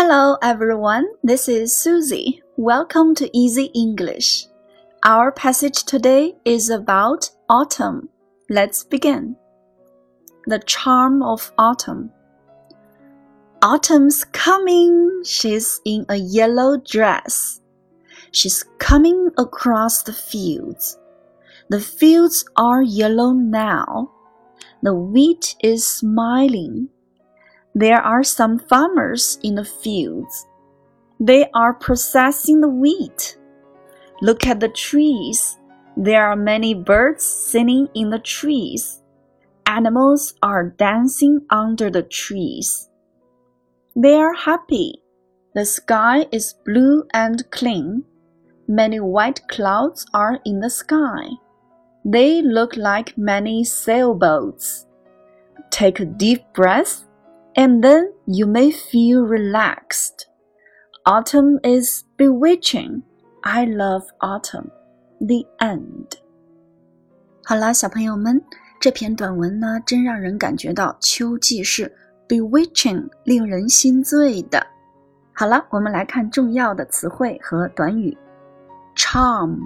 Hello everyone, this is Susie. Welcome to Easy English. Our passage today is about autumn. Let's begin. The charm of autumn. Autumn's coming. She's in a yellow dress. She's coming across the fields. The fields are yellow now. The wheat is smiling. There are some farmers in the fields. They are processing the wheat. Look at the trees. There are many birds singing in the trees. Animals are dancing under the trees. They are happy. The sky is blue and clean. Many white clouds are in the sky. They look like many sailboats. Take a deep breath, and then you may feel relaxed. Autumn is bewitching. I love autumn. The end. 好了，小朋友们，这篇短文呢，真让人感觉到秋季是 bewitching， 令人心醉的。好了，我们来看重要的词汇和短语。Charm,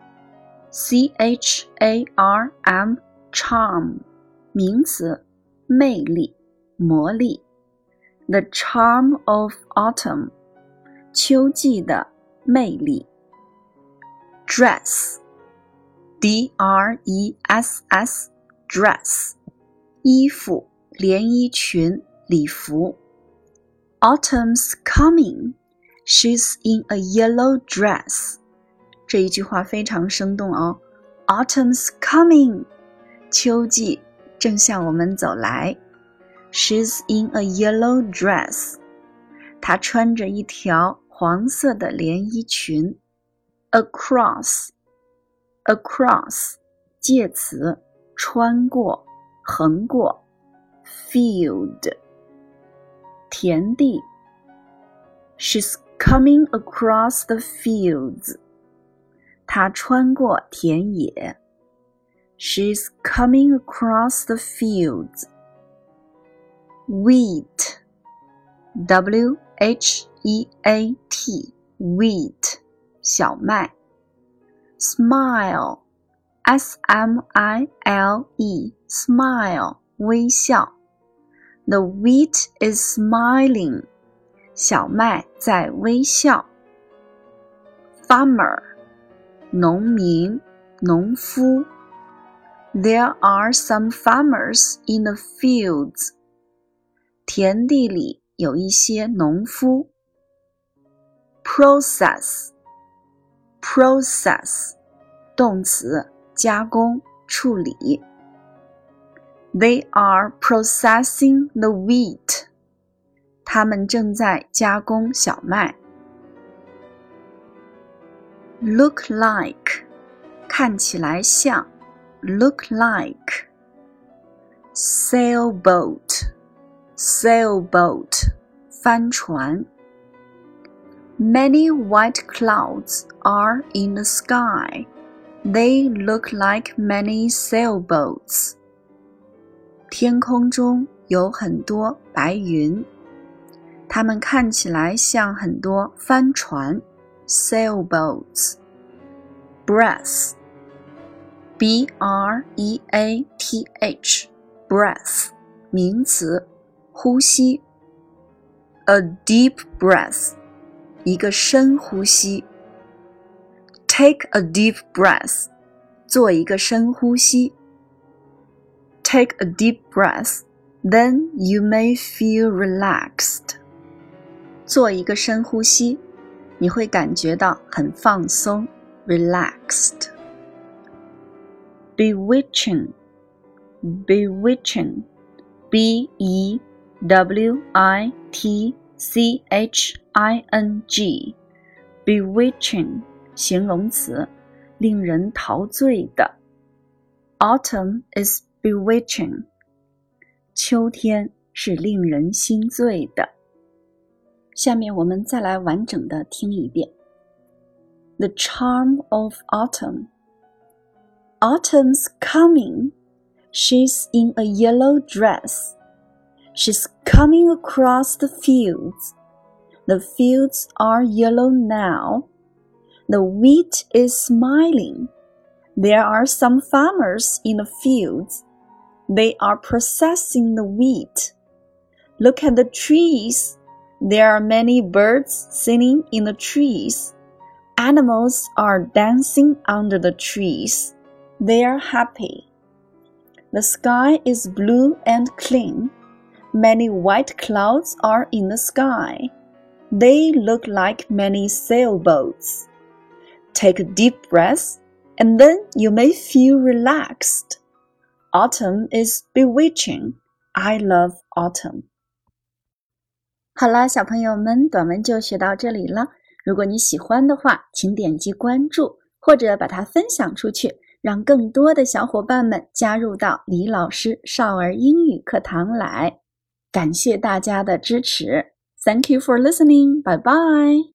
C-H-A-R-M, charm, 名词，魅力。魔力 The charm of autumn 秋季的魅力 Dress D-R-E-S-S Dress 衣服连衣裙礼服 Autumn's coming She's in a yellow dress 这一句话非常生动哦 Autumn's coming 秋季正向我们走来She's in a yellow dress. 她穿着一条黄色的连衣裙。Across, 介词，穿过，横过。Field, 田地。She's coming across the fields. 她穿过田野。She's coming across the fields.Wheat, W-H-E-A-T, wheat, 小麦。Smile, S-M-I-L-E, smile, 微笑。The wheat is smiling, 小麦在微笑。Farmer, 农民，农夫。There are some farmers in the fields.田地里有一些农夫。Process, 动词，加工，处理。They are processing the wheat. 他们正在加工小麦。Look like, 看起来像。Look like. Sailboat, 帆船。Many white clouds are in the sky. They look like many sailboats. 天空中有很多白云，它们看起来像很多帆船 sailboats. Breath, B-R-E-A-T-H, breath, 名词呼吸 A deep breath 一个深呼吸 Take a deep breath 做一个深呼吸 Take a deep breath Then you may feel relaxed 做一个深呼吸你会感觉到很放松 Relaxed Bewitching B-E-W-I-T-C-H-I-N-G Bewitching 形容词令人陶醉的 Autumn is bewitching 秋天是令人心醉的下面我们再来完整的听一遍 The charm of autumn Autumn's coming She's in a yellow dress. She's coming across the fields. The fields are yellow now. The wheat is smiling. There are some farmers in the fields. They are processing the wheat. Look at the trees. There are many birds singing in the trees. Animals are dancing under the trees. They are happy. The sky is blue and clean. Many white clouds are in the sky. They look like many sailboats. Take a deep breath, and then you may feel relaxed. Autumn is bewitching. I love autumn. 好啦，小朋友们，短文就学到这里了。如果你喜欢的话，请点击关注，或者把它分享出去，让更多的小伙伴们加入到李老师少儿英语课堂来。感谢大家的支持。Thank you for listening. Bye bye.